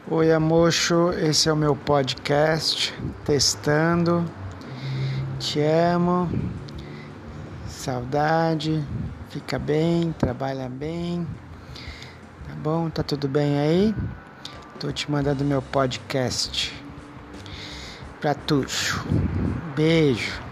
Oi, Amocho, esse é o meu podcast, testando, te amo, saudade, fica bem, trabalha bem, tá bom? Tá tudo bem aí? Tô te mandando meu podcast pra tu. Beijo.